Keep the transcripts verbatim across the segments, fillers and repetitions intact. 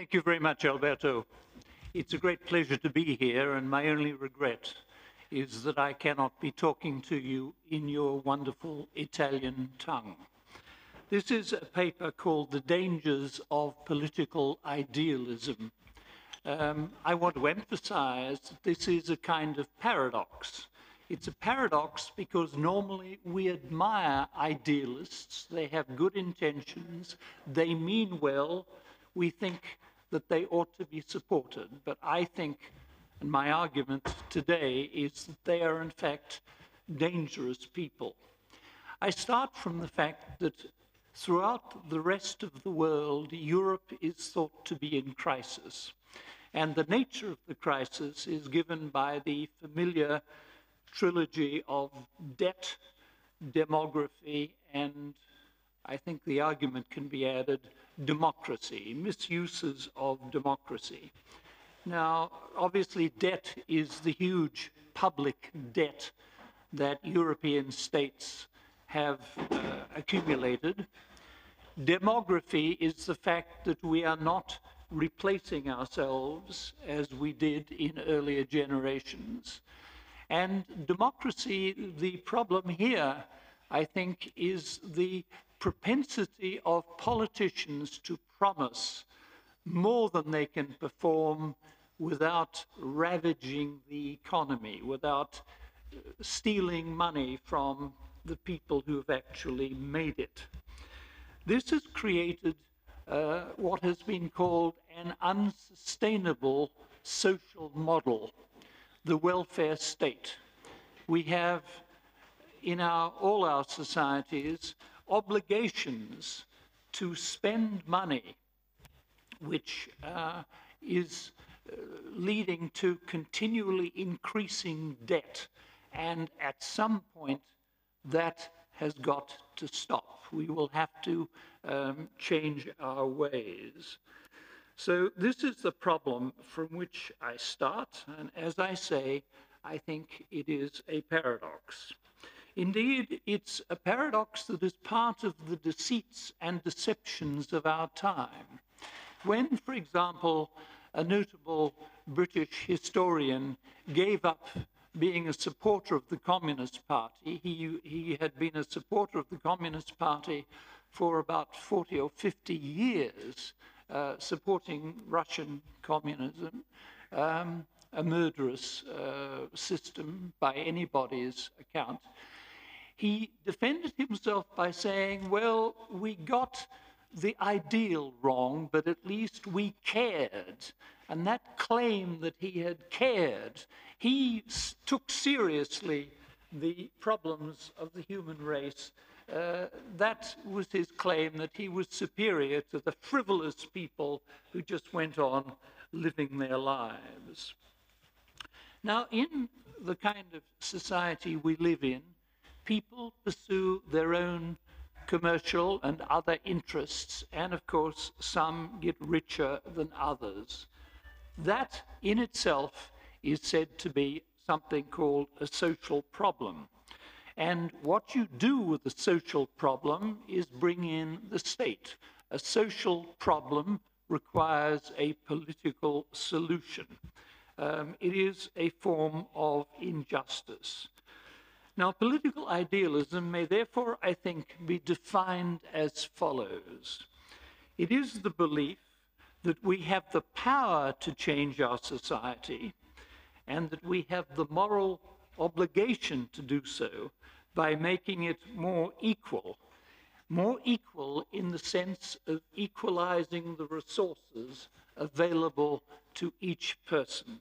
Thank you very much, Alberto. It's a great pleasure to be here, and my only regret is that I cannot be talking to you in your wonderful Italian tongue. This is a paper called The Dangers of Political Idealism. Um, I want to emphasize that this is a kind of paradox. It's a paradox because normally we admire idealists. They have good intentions, they mean well, we think that they ought to be supported. But I think, and my argument today is that they are in fact dangerous people. I start from the fact that throughout the rest of the world, Europe is thought to be in crisis. And the nature of the crisis is given by the familiar trilogy of debt, demography, and I think the argument can be added, democracy, misuses of democracy. Now, obviously, debt is the huge public debt that European states have uh, accumulated. Demography is the fact that we are not replacing ourselves as we did in earlier generations. And democracy, the problem here, I think, is the propensity of politicians to promise more than they can perform without ravaging the economy, without stealing money from the people who have actually made it. This has created uh, what has been called an unsustainable social model, the welfare state. We have in our, all our societies obligations to spend money, which uh, is uh, leading to continually increasing debt. And at some point, that has got to stop. We will have to um, change our ways. So this is the problem from which I start. And as I say, I think it is a paradox. Indeed, it's a paradox that is part of the deceits and deceptions of our time. When, for example, a notable British historian gave up being a supporter of the Communist Party, he, he had been a supporter of the Communist Party for about forty or fifty years, uh, supporting Russian communism, um, a murderous uh, system by anybody's account. He defended himself by saying, well, we got the ideal wrong, but at least we cared. And that claim that he had cared, he took seriously the problems of the human race. Uh, that was his claim, that he was superior to the frivolous people who just went on living their lives. Now, in the kind of society we live in, people pursue their own commercial and other interests, and of course, some get richer than others. That in itself is said to be something called a social problem. And what you do with the social problem is bring in the state. A social problem requires a political solution. Um, it is a form of injustice. Now, political idealism may therefore, I think, be defined as follows. It is the belief that we have the power to change our society and that we have the moral obligation to do so by making it more equal. More equal in the sense of equalizing the resources available to each person.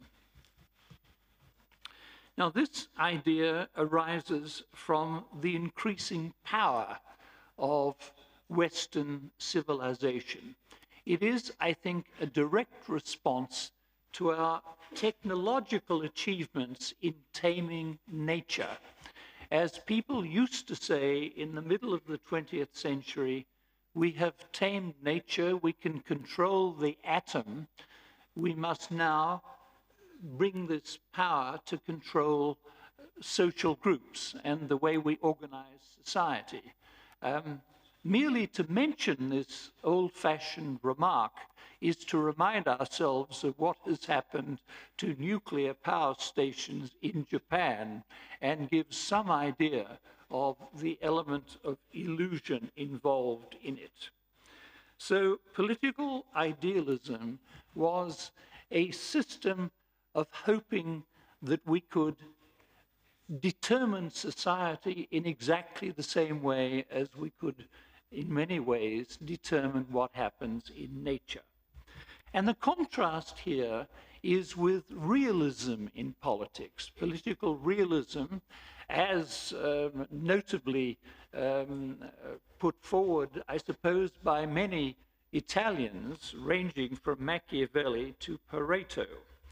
Now, this idea arises from the increasing power of Western civilization. It is, I think, a direct response to our technological achievements in taming nature. As people used to say in the middle of the twentieth century, we have tamed nature, we can control the atom, we must now bring this power to control social groups and the way we organize society. Um, merely to mention this old-fashioned remark is to remind ourselves of what has happened to nuclear power stations in Japan and give some idea of the element of illusion involved in it. So political idealism was a system of hoping that we could determine society in exactly the same way as we could, in many ways, determine what happens in nature. And the contrast here is with realism in politics. Political realism, as um, notably um, put forward, I suppose, by many Italians, ranging from Machiavelli to Pareto.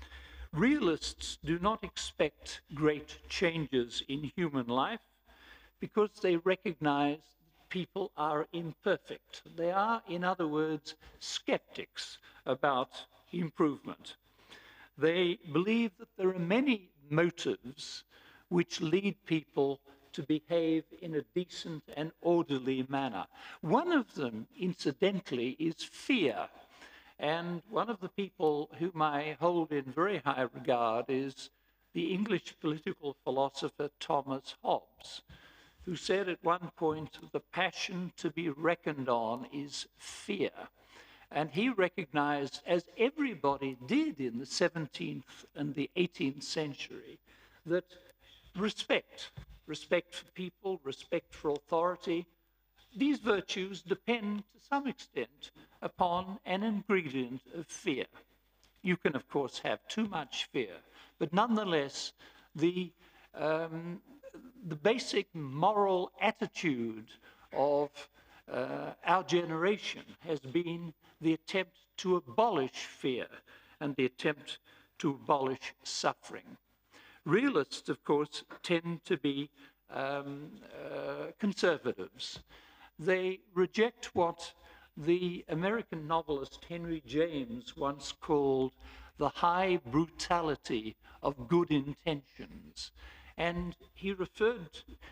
Realists do not expect great changes in human life because they recognize people are imperfect. They are, in other words, skeptics about improvement. They believe that there are many motives which lead people to behave in a decent and orderly manner. One of them, incidentally, is fear. And one of the people whom I hold in very high regard is the English political philosopher Thomas Hobbes, who said at one point, the passion to be reckoned on is fear. And he recognized, as everybody did in the seventeenth and the eighteenth century, that respect, respect for people, respect for authority, these virtues depend to some extent upon an ingredient of fear. You can, of course, have too much fear, but nonetheless, the, um, the basic moral attitude of uh, our generation has been the attempt to abolish fear and the attempt to abolish suffering. Realists, of course, tend to be um, uh, conservatives. They reject what the American novelist Henry James once called the high brutality of good intentions. And he referred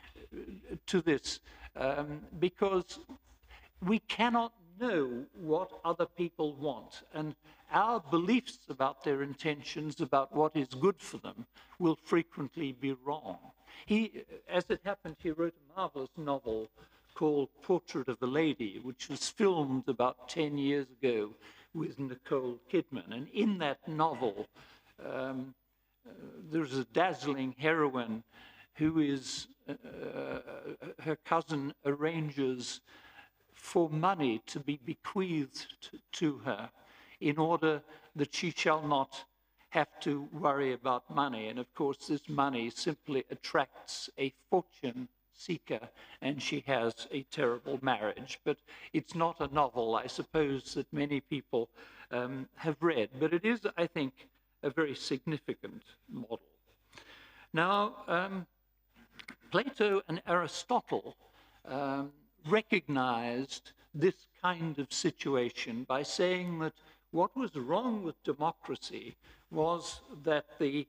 to this um, because we cannot know what other people want, and our beliefs about their intentions, about what is good for them, will frequently be wrong. He, as it happened, he wrote a marvelous novel called Portrait of a Lady, which was filmed about ten years ago with Nicole Kidman. And in that novel, um, uh, there's a dazzling heroine who is, uh, her cousin arranges for money to be bequeathed to, to her in order that she shall not have to worry about money. And of course, this money simply attracts a fortune seeker, and she has a terrible marriage. But it's not a novel, I suppose, that many people um, have read, but it is, I think, a very significant model. Now, um, Plato and Aristotle um, recognized this kind of situation by saying that what was wrong with democracy was that the,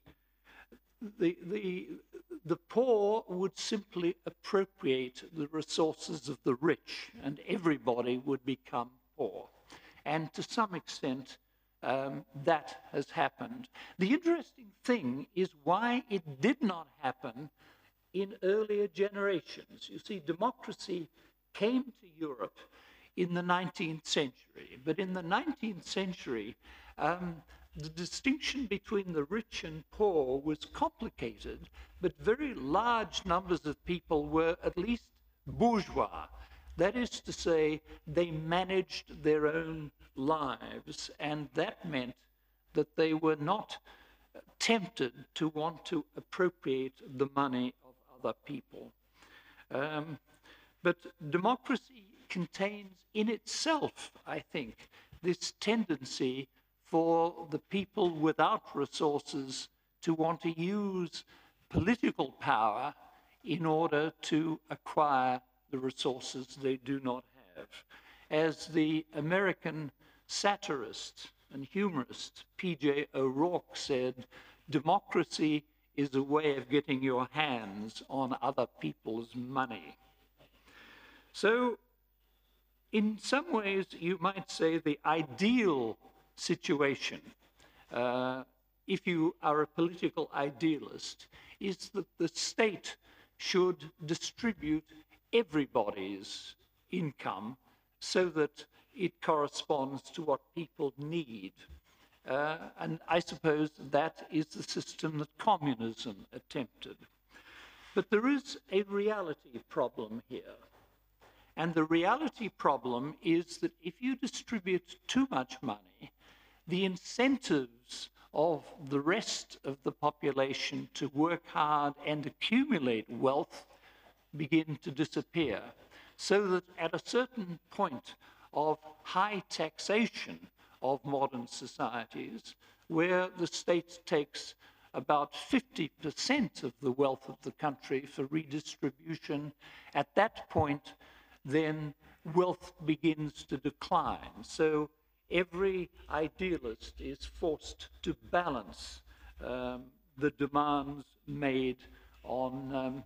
the, the, the poor would simply appropriate the resources of the rich, and everybody would become poor. And to some extent, um, that has happened. The interesting thing is why it did not happen in earlier generations. You see, democracy came to Europe in the nineteenth century, but in the nineteenth century, um, the distinction between the rich and poor was complicated, but very large numbers of people were at least bourgeois. That is to say, they managed their own lives, and that meant that they were not tempted to want to appropriate the money of other people. Um, but democracy contains in itself, I think, this tendency for the people without resources to want to use political power in order to acquire the resources they do not have. As the American satirist and humorist P J O'Rourke said, democracy is a way of getting your hands on other people's money. So, in some ways, you might say the ideal situation, uh, if you are a political idealist, is that the state should distribute everybody's income so that it corresponds to what people need. Uh, and I suppose that is the system that communism attempted. But there is a reality problem here. And the reality problem is that if you distribute too much money, the incentives of the rest of the population to work hard and accumulate wealth begin to disappear. So that at a certain point of high taxation of modern societies, where the state takes about fifty percent of the wealth of the country for redistribution, at that point, then wealth begins to decline. So every idealist is forced to balance um, the demands made on, um,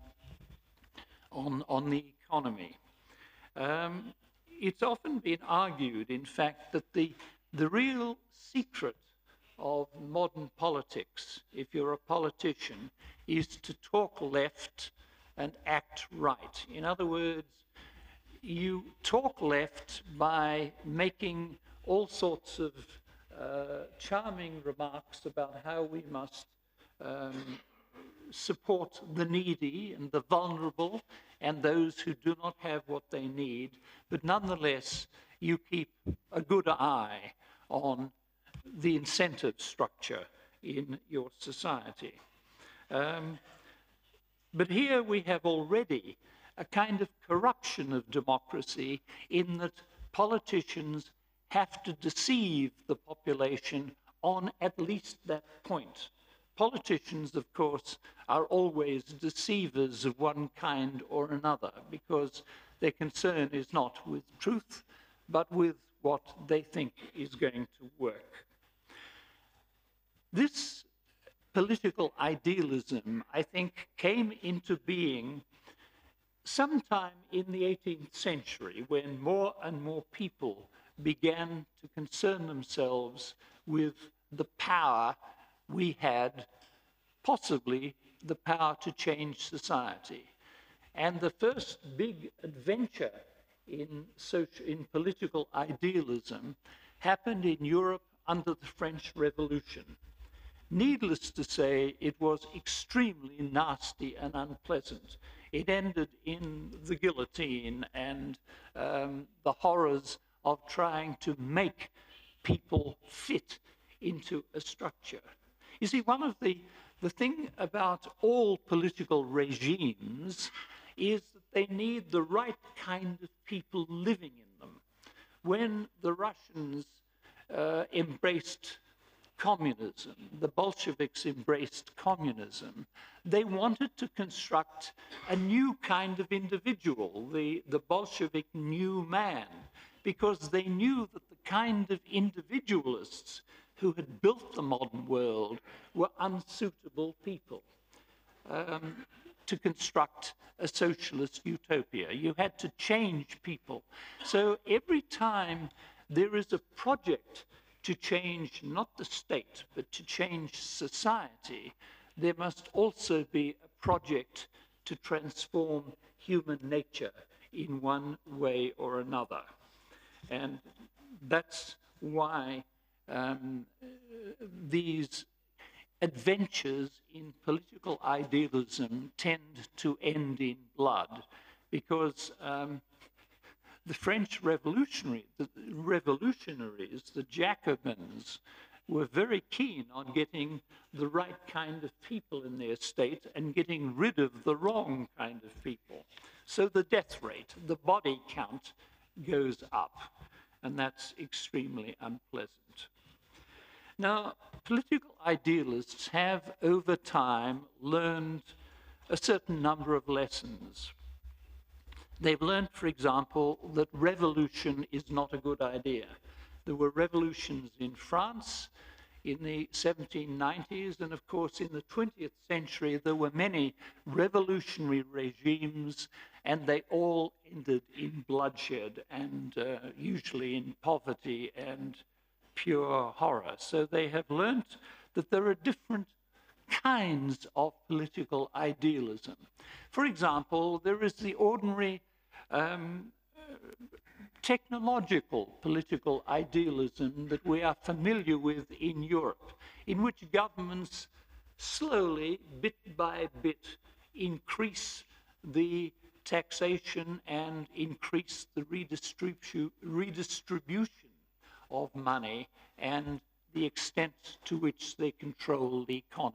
on, on the economy. Um, it's often been argued, in fact, that the, the real secret of modern politics, if you're a politician, is to talk left and act right. In other words, you talk left by making all sorts of uh, charming remarks about how we must um, support the needy and the vulnerable and those who do not have what they need, but nonetheless, you keep a good eye on the incentive structure in your society. Um, but here we have already a kind of corruption of democracy in that politicians have to deceive the population on at least that point. Politicians, of course, are always deceivers of one kind or another because their concern is not with truth, but with what they think is going to work. This political idealism, I think, came into being sometime in the eighteenth century when more and more people began to concern themselves with the power we had, possibly the power to change society. And the first big adventure in, social, in political idealism happened in Europe under the French Revolution. Needless to say, it was extremely nasty and unpleasant. It ended in the guillotine and um, the horrors of trying to make people fit into a structure. You see, one of the, the thing about all political regimes is that they need the right kind of people living in them. When the Russians uh, embraced communism, the Bolsheviks embraced communism, they wanted to construct a new kind of individual, the, the Bolshevik new man, because they knew that the kind of individualists who had built the modern world were unsuitable people um, to construct a socialist utopia. You had to change people. So every time there is a project to change not the state, but to change society, there must also be a project to transform human nature in one way or another. And that's why um, these adventures in political idealism tend to end in blood, because um, the French revolutionary, the revolutionaries, the Jacobins, were very keen on getting the right kind of people in their state and getting rid of the wrong kind of people. So the death rate, the body count goes up, and that's extremely unpleasant. Now, political idealists have over time learned a certain number of lessons. They've learned, for example, that revolution is not a good idea. There were revolutions in France in the seventeen nineties, and of course in the twentieth century there were many revolutionary regimes, and they all ended in bloodshed and uh, usually in poverty and pure horror. So they have learnt that there are different kinds of political idealism. For example, there is the ordinary um, technological political idealism that we are familiar with in Europe, in which governments slowly, bit by bit, increase the taxation and increase the redistribu redistribution of money and the extent to which they control the economy.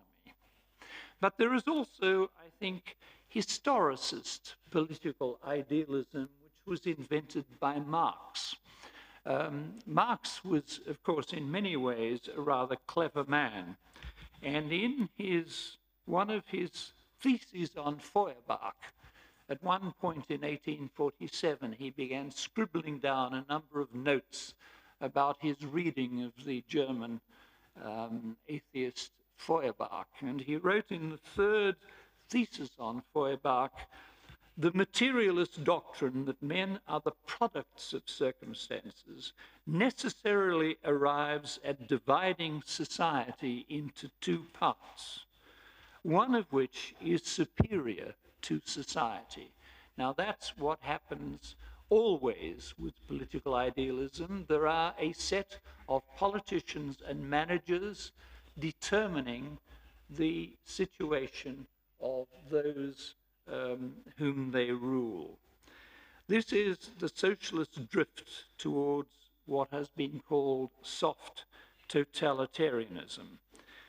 But there is also, I think, historicist political idealism, which was invented by Marx. Um, Marx was, of course, in many ways a rather clever man. And in his, one of his theses on Feuerbach, at one point in eighteen forty-seven, he began scribbling down a number of notes about his reading of the German um, atheist Feuerbach. And he wrote in the third thesis on Feuerbach, the materialist doctrine that men are the products of circumstances necessarily arrives at dividing society into two parts, one of which is superior to society. Now that's what happens always with political idealism. There are a set of politicians and managers determining the situation of those um, whom they rule. This is the socialist drift towards what has been called soft totalitarianism.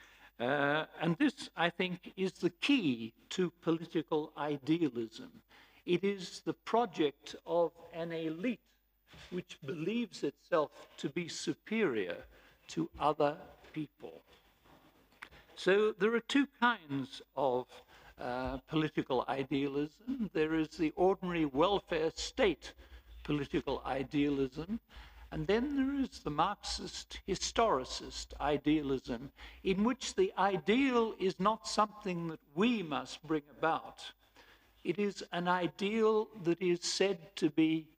Uh, and this, I think, is the key to political idealism. It is the project of an elite which believes itself to be superior to other people. So there are two kinds of uh, political idealism. There is the ordinary welfare state political idealism, and then there is the Marxist historicist idealism, in which the ideal is not something that we must bring about. It is an ideal that is said to be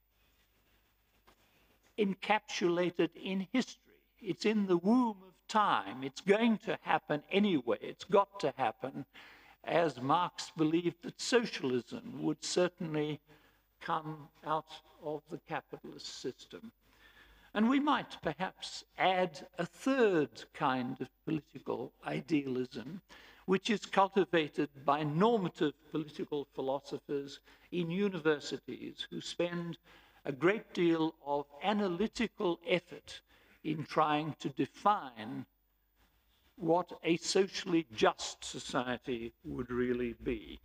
encapsulated in history. It's in the womb of time. It's going to happen anyway. It's got to happen, as Marx believed that socialism would certainly come out of the capitalist system. And we might perhaps add a third kind of political idealism, which is cultivated by normative political philosophers in universities who spend a great deal of analytical effort in trying to define what a socially just society would really be.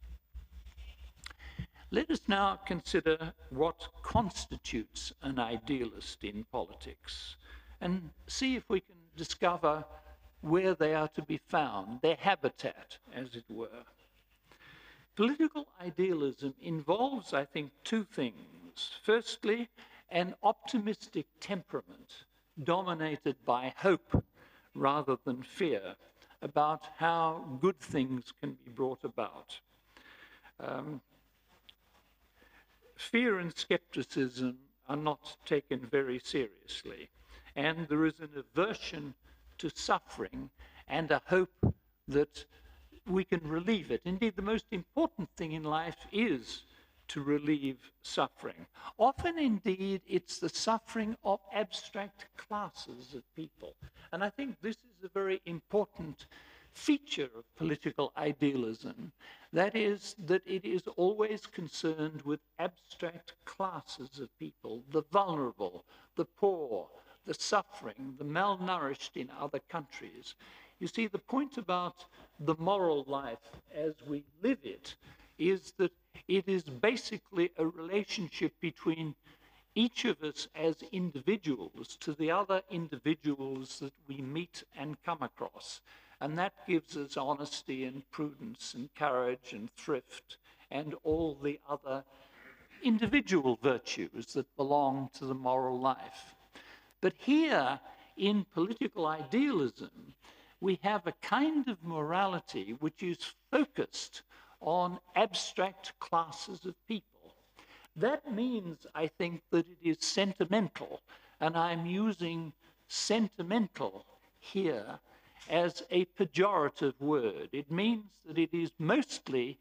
Let us now consider what constitutes an idealist in politics and see if we can discover where they are to be found, their habitat, as it were. Political idealism involves, I think, two things. Firstly, an optimistic temperament dominated by hope rather than fear about how good things can be brought about. Um, fear and skepticism are not taken very seriously, and there is an aversion to suffering and a hope that we can relieve it. Indeed, the most important thing in life is to relieve suffering. Often, indeed, it's the suffering of abstract classes of people. And I think this is a very important feature of political idealism. That is, that it is always concerned with abstract classes of people, the vulnerable, the poor, the suffering, the malnourished in other countries. You see, the point about the moral life as we live it is that it is basically a relationship between each of us as individuals to the other individuals that we meet and come across. And that gives us honesty and prudence and courage and thrift and all the other individual virtues that belong to the moral life. But here, in political idealism, we have a kind of morality which is focused on abstract classes of people. That means, I think, that it is sentimental, and I'm using sentimental here as a pejorative word. It means that it is mostly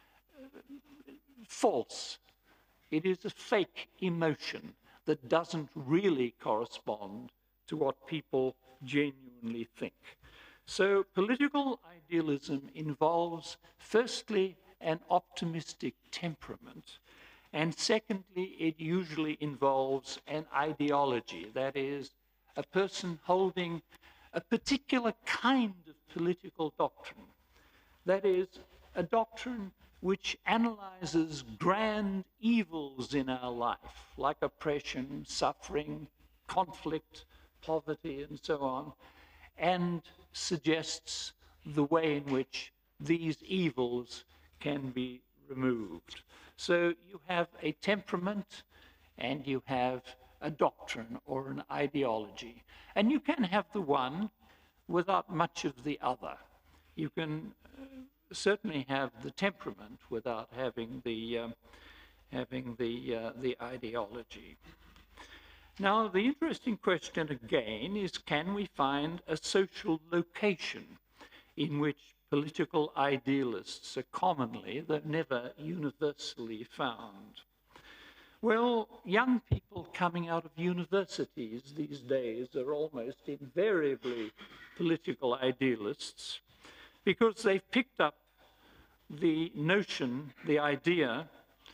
false. It is a fake emotion that doesn't really correspond to what people genuinely think. So political idealism involves, firstly, an optimistic temperament, and secondly, it usually involves an ideology, that is, a person holding a particular kind of political doctrine, that is, a doctrine which analyzes grand evils in our life, like oppression, suffering, conflict, poverty, and so on, and suggests the way in which these evils can be removed. So you have a temperament and you have a doctrine or an ideology. And you can have the one without much of the other. You can uh, certainly have the temperament without having the, um, having the, uh, the ideology. Now, the interesting question again is, can we find a social location in which political idealists are commonly, though never universally, found? Well, young people coming out of universities these days are almost invariably political idealists because they've picked up the notion, the idea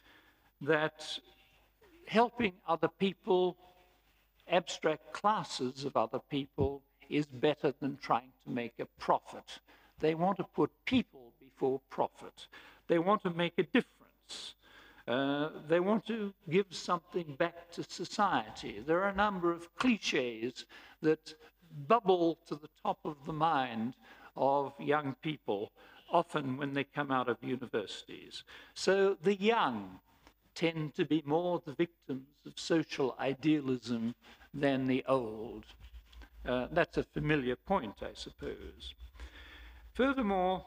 that helping other people, abstract classes of other people, is better than trying to make a profit. They want to put people before profit. They want to make a difference. Uh, they want to give something back to society. There are a number of cliches that bubble to the top of the mind of young people, often when they come out of universities. So the young tend to be more the victims of social idealism than the old. Uh, that's a familiar point, I suppose. Furthermore,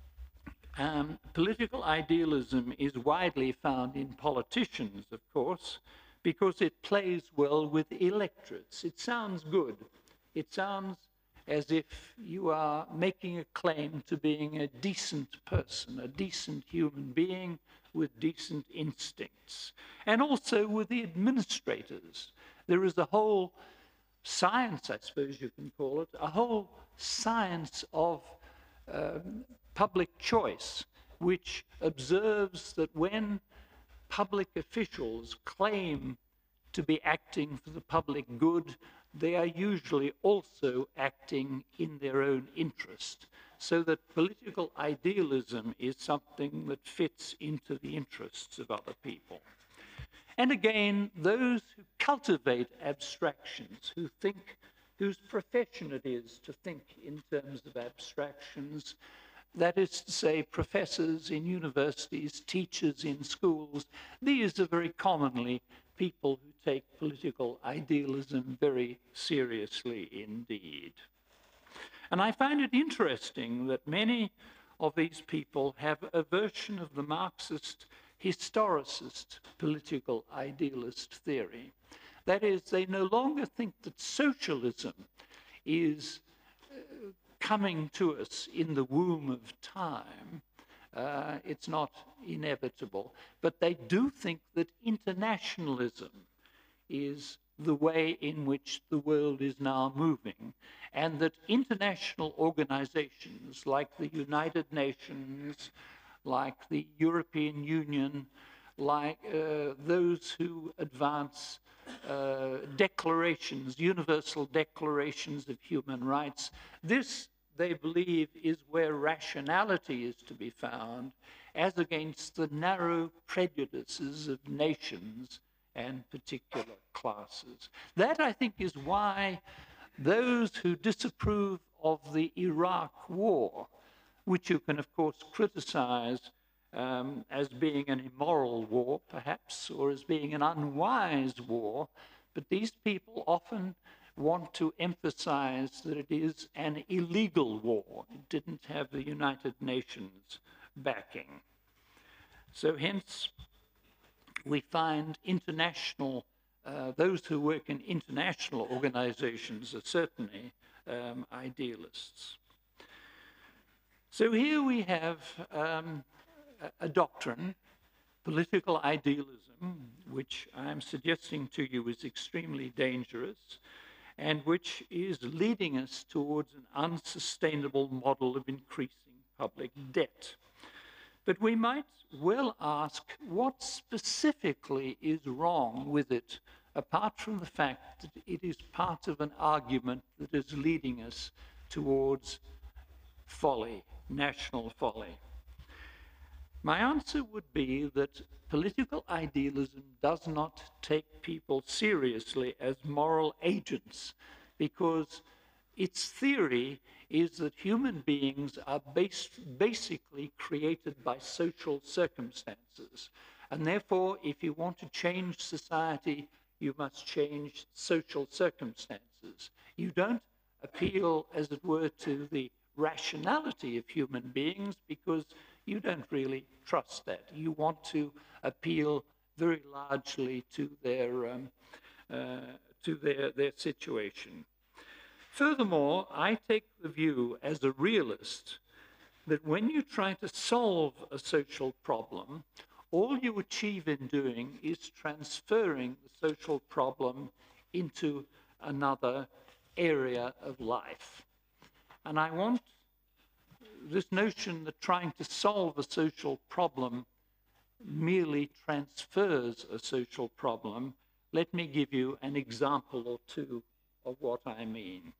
um, political idealism is widely found in politicians, of course, because it plays well with electorates. It sounds good. It sounds as if you are making a claim to being a decent person, a decent human being with decent instincts. And also with the administrators. There is a whole science, I suppose you can call it, a whole science of um, public choice, which observes that when public officials claim to be acting for the public good, they are usually also acting in their own interest. So that political idealism is something that fits into the interests of other people. And again, those who cultivate abstractions, who think, whose profession it is to think in terms of abstractions, that is to say, professors in universities, teachers in schools, these are very commonly people who take political idealism very seriously indeed. And I find it interesting that many of these people have a version of the Marxist historicist political idealist theory. That is, they no longer think that socialism is uh, coming to us in the womb of time. Uh, it's not inevitable. But they do think that internationalism is the way in which the world is now moving, and that international organizations like the United Nations, like the European Union, like uh, those who advance uh, declarations, universal declarations of human rights, this, they believe, is where rationality is to be found, as against the narrow prejudices of nations and particular classes. That, I think, is why those who disapprove of the Iraq War, which you can, of course, criticize um, as being an immoral war, perhaps, or as being an unwise war, but these people often want to emphasize that it is an illegal war. It didn't have the United Nations backing. So hence, we find international uh, those who work in international organizations are certainly um, idealists. So here we have um, a, a doctrine, political idealism, which I'm suggesting to you is extremely dangerous, and which is leading us towards an unsustainable model of increasing public debt. But we might well ask what specifically is wrong with it, apart from the fact that it is part of an argument that is leading us towards folly, national folly. My answer would be that political idealism does not take people seriously as moral agents, because its theory is that human beings are based, basically created by social circumstances. And therefore, if you want to change society, you must change social circumstances. You don't appeal, as it were, to the rationality of human beings, because you don't really trust that. You want to appeal very largely to their, um, uh, to their, their situation. Furthermore, I take the view as a realist that when you try to solve a social problem, all you achieve in doing is transferring the social problem into another area of life. And I want this notion that trying to solve a social problem merely transfers a social problem. Let me give you an example or two of what I mean.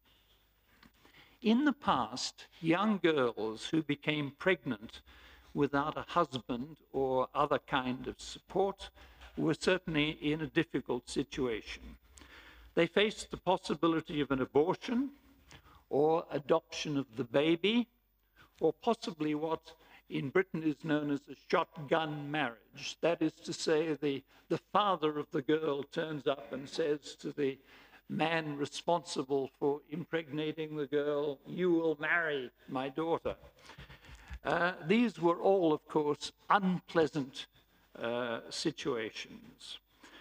In the past, young girls who became pregnant without a husband or other kind of support were certainly in a difficult situation. They faced the possibility of an abortion or adoption of the baby, or possibly what in Britain is known as a shotgun marriage. That is to say, the, the father of the girl turns up and says to the man responsible for impregnating the girl, "You will marry my daughter." Uh, these were all, of course, unpleasant uh, situations.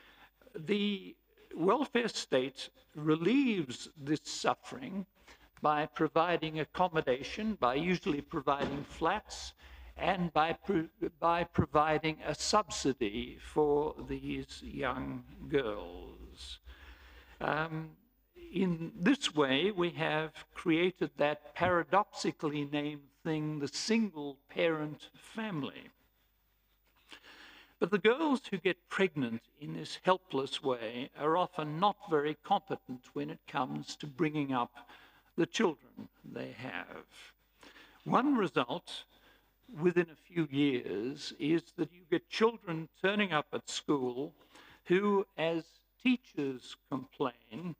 The welfare state relieves this suffering by providing accommodation, by usually providing flats, and by, pro by providing a subsidy for these young girls. Um, in this way, we have created that paradoxically named thing, the single-parent family. But the girls who get pregnant in this helpless way are often not very competent when it comes to bringing up the children they have. One result within a few years is that you get children turning up at school who, as teachers complain,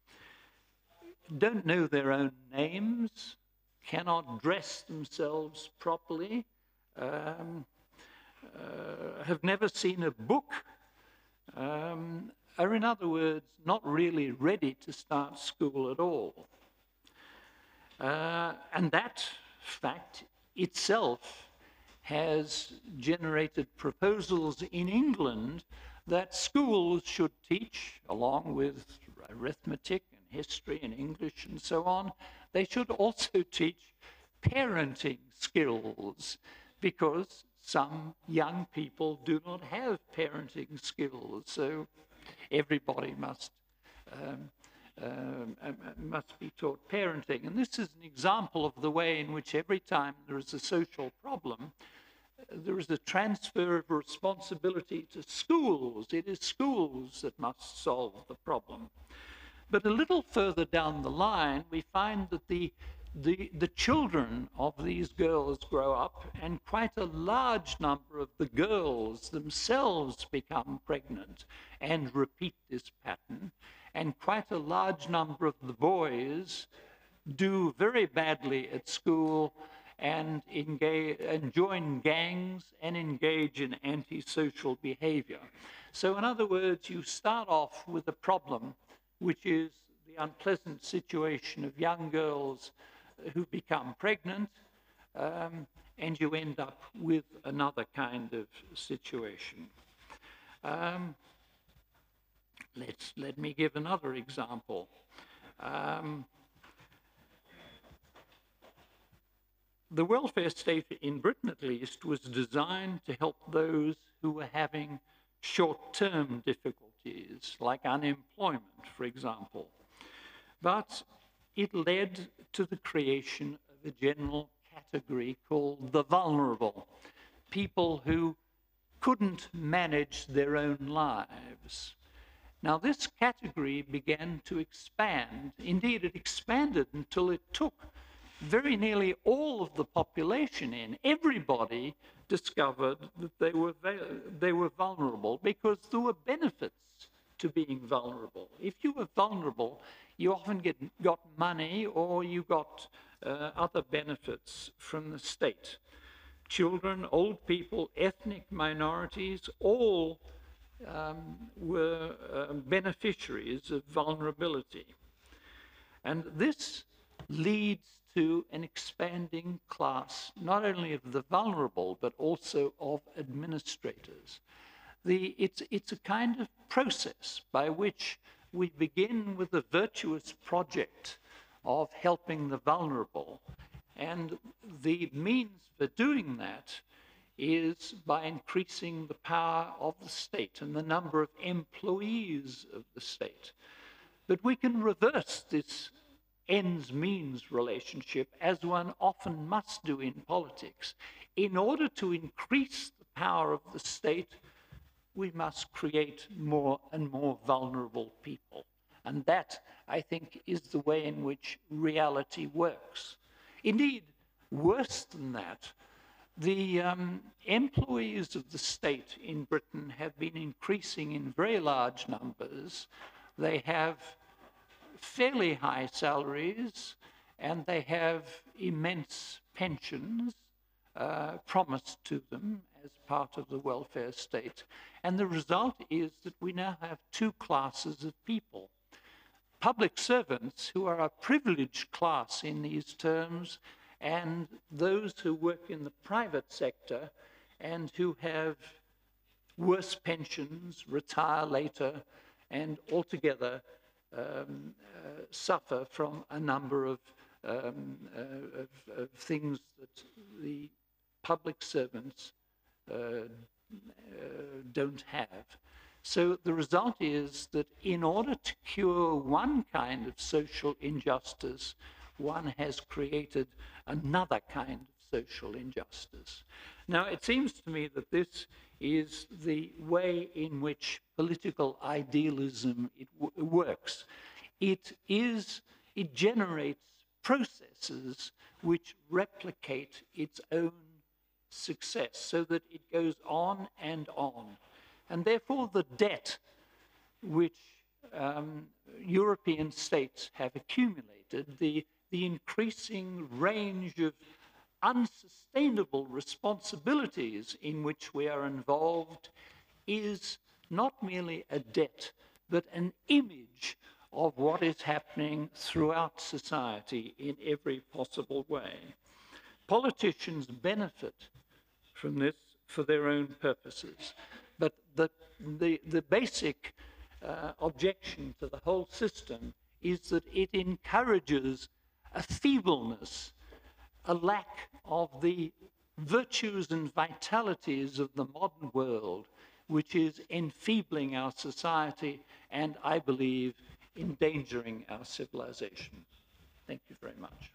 don't know their own names, cannot dress themselves properly, um, uh, have never seen a book, um, are, in other words, not really ready to start school at all. Uh, and that fact itself has generated proposals in England that schools should teach, along with arithmetic and history and English and so on, they should also teach parenting skills, because some young people do not have parenting skills. So everybody must um, Um, must be taught parenting. And this is an example of the way in which every time there is a social problem, there is a transfer of responsibility to schools. It is schools that must solve the problem. But a little further down the line, we find that the, the, the children of these girls grow up, and quite a large number of the girls themselves become pregnant and repeat this pattern. And quite a large number of the boys do very badly at school and, engage, and join gangs and engage in antisocial behavior. So in other words, you start off with a problem, which is the unpleasant situation of young girls who become pregnant, um, and you end up with another kind of situation. Um, Let's, let me give another example. Um, the welfare state in Britain, at least, was designed to help those who were having short-term difficulties, like unemployment, for example. But it led to the creation of a general category called the vulnerable, people who couldn't manage their own lives. Now, this category began to expand. Indeed, it expanded until it took very nearly all of the population in. Everybody discovered that they were, they were vulnerable because there were benefits to being vulnerable. If you were vulnerable, you often get, got money or you got uh, other benefits from the state. Children, old people, ethnic minorities, all um, were uh, beneficiaries of vulnerability. And this leads to an expanding class, not only of the vulnerable, but also of administrators. The, it's, it's a kind of process by which we begin with a virtuous project of helping the vulnerable. And the means for doing that is by increasing the power of the state and the number of employees of the state. But we can reverse this ends-means relationship, as one often must do in politics. In order to increase the power of the state, we must create more and more vulnerable people. And that, I think, is the way in which reality works. Indeed, worse than that, the um, employees of the state in Britain have been increasing in very large numbers. They have fairly high salaries, and they have immense pensions uh, promised to them as part of the welfare state. And the result is that we now have two classes of people. Public servants, who are a privileged class in these terms, and those who work in the private sector and who have worse pensions, retire later, and altogether um, uh, suffer from a number of, um, uh, of, of things that the public servants uh, uh, don't have. So the result is that in order to cure one kind of social injustice, one has created another kind of social injustice. Now, it seems to me that this is the way in which political idealism it w works. It is, it generates processes which replicate its own success so that it goes on and on. And therefore the debt which um, European states have accumulated, the, the increasing range of unsustainable responsibilities in which we are involved, is not merely a debt, but an image of what is happening throughout society in every possible way. Politicians benefit from this for their own purposes, but the, the, the basic uh, objection to the whole system is that it encourages a feebleness, a lack of the virtues and vitalities of the modern world, which is enfeebling our society and, I believe, endangering our civilization. Thank you very much.